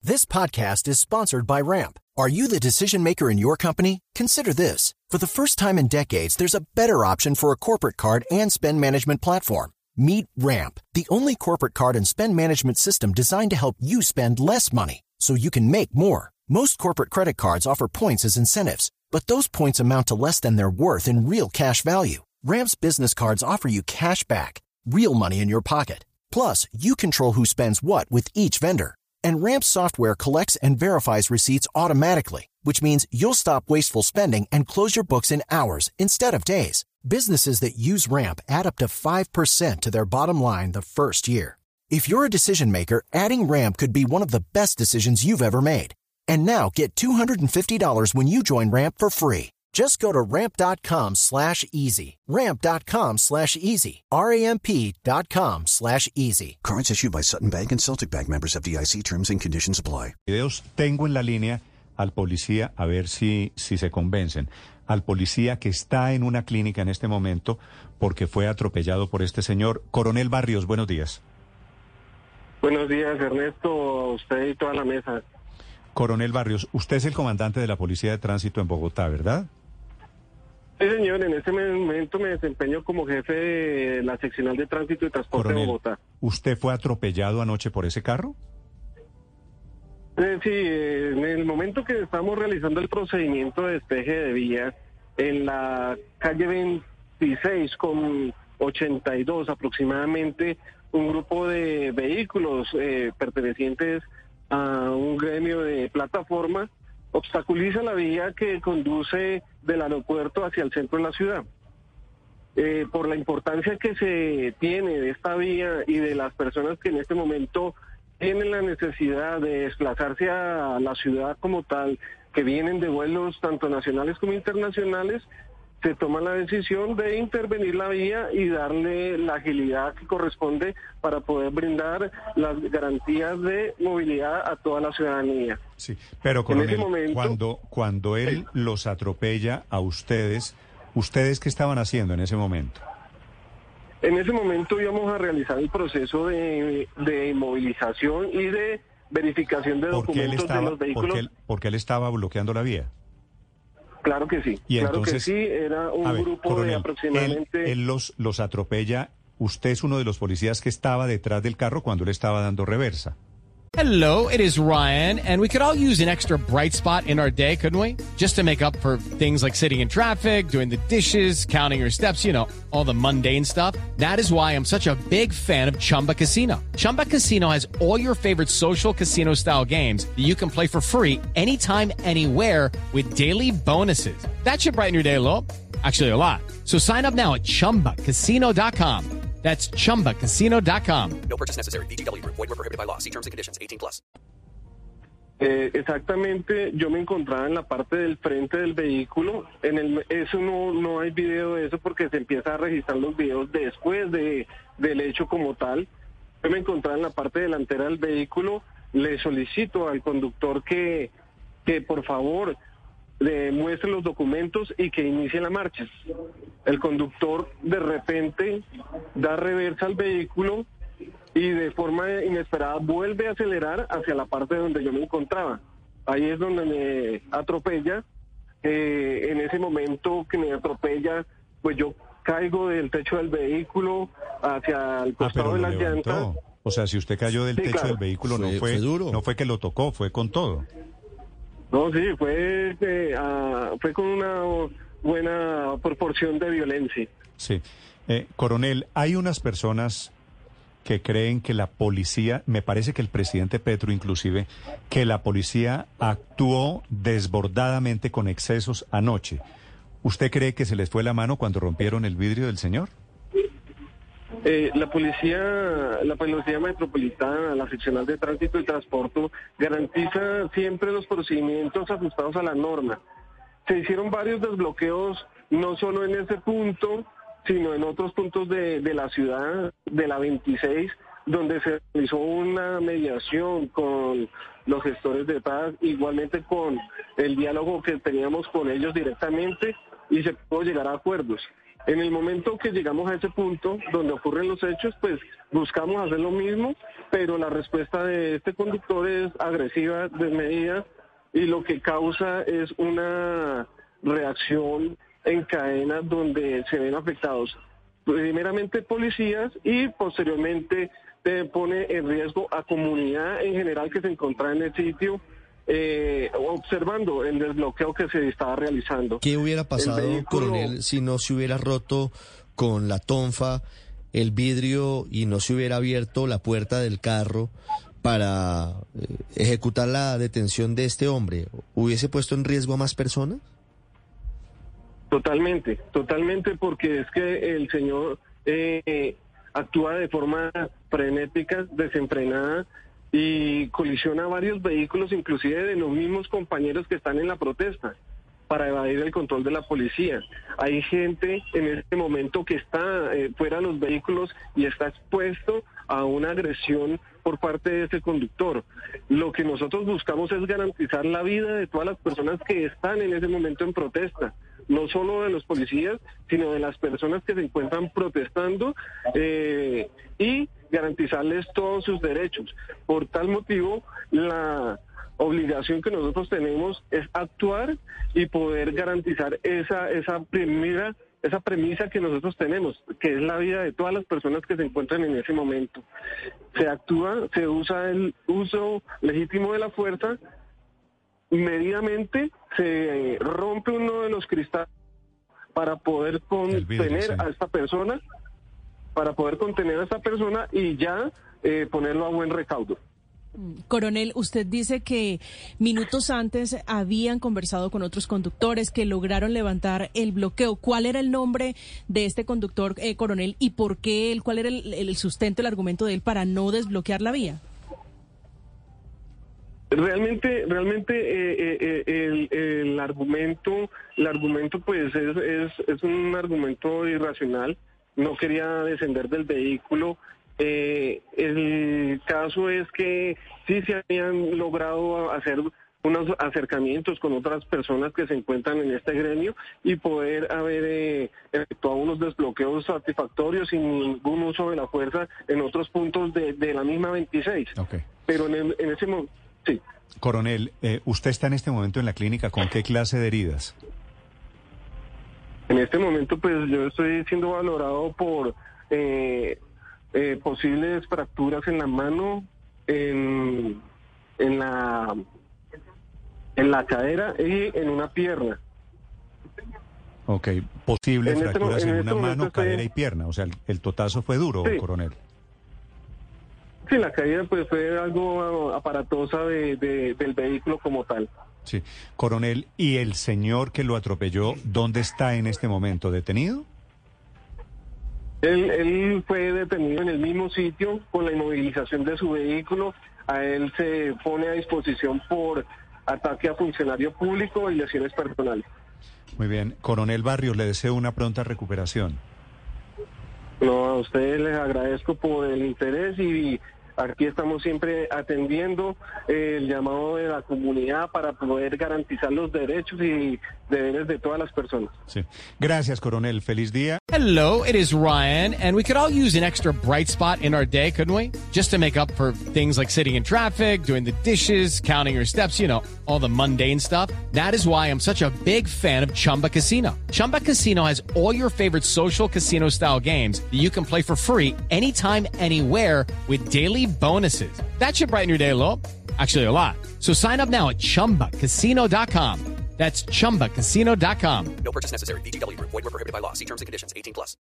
This podcast is sponsored by Ramp. Are you the decision maker in your company? Consider this. For the first time in decades, there's a better option for a corporate card and spend management platform. Meet Ramp, the only corporate card and spend management system designed to help you spend less money so you can make more. Most corporate credit cards offer points as incentives, but those points amount to less than their worth in real cash value. Ramp's business cards offer you cash back, real money in your pocket. Plus, you control who spends what with each vendor. And Ramp's software collects and verifies receipts automatically, which means you'll stop wasteful spending and close your books in hours instead of days. Businesses that use Ramp add up to 5% to their bottom line the first year. If you're a decision maker, adding Ramp could be one of the best decisions you've ever made. And now get $250 when you join Ramp for free. Just go to ramp.com/easy. Ramp.com/easy. RAMP.com/easy. Cards issued by Sutton Bank and Celtic Bank, members of FDIC. Terms and conditions apply. Tengo en la línea al policía, a ver si se convencen. Al policía que está en una clínica en este momento porque fue atropellado por este señor. Coronel Barrios, buenos días. Buenos días, Ernesto, a usted y toda la mesa. Coronel Barrios, usted es el comandante de la Policía de Tránsito en Bogotá, ¿verdad? Sí, señor, en este momento me desempeño como jefe de la seccional de tránsito y transporte Coronel, de Bogotá. ¿usted fue atropellado anoche por ese carro? Sí, en el momento que estamos realizando el procedimiento de despeje de vía en la calle 26 con 82 aproximadamente, un grupo de vehículos pertenecientes a un gremio de plataforma obstaculiza la vía que conduce del aeropuerto hacia el centro de la ciudad. Por la importancia que se tiene de esta vía y de las personas que en este momento tienen la necesidad de desplazarse a la ciudad como tal, que vienen de vuelos tanto nacionales como internacionales, se toma la decisión de intervenir la vía y darle la agilidad que corresponde para poder brindar las garantías de movilidad a toda la ciudadanía. Sí, pero coronel, en ese momento, cuando él los atropella a ustedes, ¿ustedes qué estaban haciendo en ese momento? En ese momento íbamos a realizar el proceso de inmovilización y de verificación de documentos de los vehículos. ¿Por qué él estaba bloqueando la vía? Claro que sí, Y claro entonces, que sí, era un grupo coronel, de aproximadamente... Él los atropella, usted es uno de los policías que estaba detrás del carro cuando él estaba dando reversa. Hello, it is Ryan, and we could all use an extra bright spot in our day, couldn't we? Just to make up for things like sitting in traffic, doing the dishes, counting your steps, you know, all the mundane stuff. That is why I'm such a big fan of Chumba Casino. Chumba Casino has all your favorite social casino-style games that you can play for free anytime, anywhere with daily bonuses. That should brighten your day a little. Actually, a lot. So sign up now at ChumbaCasino.com. That's ChumbaCasino.com. No purchase necessary. VGW Group. Void where prohibited by law. See terms and conditions. 18+. Exactamente, yo me encontraba en la parte del frente del vehículo. Eso no hay video de eso porque se empieza a registrar los videos después del hecho como tal. Yo me encontraba en la parte delantera del vehículo. Le solicito al conductor que por favor muestre los documentos y que inicie la marcha. El conductor de repente da reversa al vehículo y de forma inesperada vuelve a acelerar hacia la parte donde yo me encontraba. Ahí es donde me atropella. En ese momento que me atropella, pues yo caigo del techo del vehículo hacia el costado de las llantas. O sea, si usted cayó del techo del vehículo, fue duro. No fue que lo tocó, fue con todo. No, sí, fue con una buena proporción de violencia. Sí. Coronel, hay unas personas que creen que la policía, me parece que el presidente Petro inclusive, que la policía actuó desbordadamente con excesos anoche. ¿Usted cree que se les fue la mano cuando rompieron el vidrio del señor? La policía metropolitana, la seccional de tránsito y transporte, garantiza siempre los procedimientos ajustados a la norma. Se hicieron varios desbloqueos, no solo en ese punto, sino en otros puntos de la ciudad, de la 26, donde se realizó una mediación con los gestores de paz, igualmente con el diálogo que teníamos con ellos directamente, y se pudo llegar a acuerdos. En el momento que llegamos a ese punto donde ocurren los hechos, pues buscamos hacer lo mismo, pero la respuesta de este conductor es agresiva, desmedida, y lo que causa es una reacción en cadena donde se ven afectados primeramente policías y posteriormente pone en riesgo a comunidad en general que se encontraba en el sitio observando el desbloqueo que se estaba realizando. ¿Qué hubiera pasado, coronel, si no se hubiera roto con la tonfa el vidrio y no se hubiera abierto la puerta del carro para ejecutar la detención de este hombre? ¿Hubiese puesto en riesgo a más personas? Totalmente, porque es que el señor actúa de forma frenética, desenfrenada, y colisiona varios vehículos, inclusive de los mismos compañeros que están en la protesta, para evadir el control de la policía. Hay gente en este momento que está fuera de los vehículos y está expuesto a una agresión por parte de ese conductor. Lo que nosotros buscamos es garantizar la vida de todas las personas que están en ese momento en protesta, no solo de los policías, sino de las personas que se encuentran protestando y garantizarles todos sus derechos. Por tal motivo, la obligación que nosotros tenemos es actuar y poder garantizar esa premisa que nosotros tenemos, que es la vida de todas las personas que se encuentran en ese momento. Se usa el uso legítimo de la fuerza, medidamente se rompe uno de los cristales para poder contener a esta persona, y ya ponerlo a buen recaudo. Coronel, usted dice que minutos antes habían conversado con otros conductores que lograron levantar el bloqueo. ¿Cuál era el nombre de este conductor, coronel, y por qué cuál era el sustento, el argumento de él para no desbloquear la vía? Realmente el argumento pues es un argumento irracional. No quería descender del vehículo. El caso es que sí se habían logrado hacer unos acercamientos con otras personas que se encuentran en este gremio y poder haber efectuado unos desbloqueos satisfactorios sin ningún uso de la fuerza en otros puntos de la misma 26. Okay. Pero en ese momento, sí. Coronel, usted está en este momento en la clínica, ¿con qué clase de heridas? En este momento, pues yo estoy siendo valorado por posibles fracturas en la mano, en la cadera y en una pierna. Ok, posibles fracturas en una mano, cadera y pierna. O sea, el totazo fue duro, sí. Coronel. Sí, la caída pues fue algo aparatosa del vehículo como tal. Sí. Coronel, ¿y el señor que lo atropelló, dónde está en este momento? ¿Detenido? Él fue detenido en el mismo sitio con la inmovilización de su vehículo. A él se pone a disposición por ataque a funcionario público y lesiones personales. Muy bien. Coronel Barrios, le deseo una pronta recuperación. No, a ustedes les agradezco por el interés y aquí estamos siempre atendiendo el llamado de la comunidad para poder garantizar los derechos y deberes de todas las personas. Sí. Gracias, coronel. Feliz día. Hello, it is Ryan, and we could all use an extra bright spot in our day, couldn't we? Just to make up for things like sitting in traffic, doing the dishes, counting your steps, you know, all the mundane stuff. That is why I'm such a big fan of Chumba Casino. Chumba Casino has all your favorite social casino-style games that you can play for free anytime, anywhere with daily bonuses. That should brighten your day a little. Actually, a lot. So sign up now at ChumbaCasino.com. That's ChumbaCasino.com. No purchase necessary. VGW Group. Void where prohibited by law. See terms and conditions. 18+.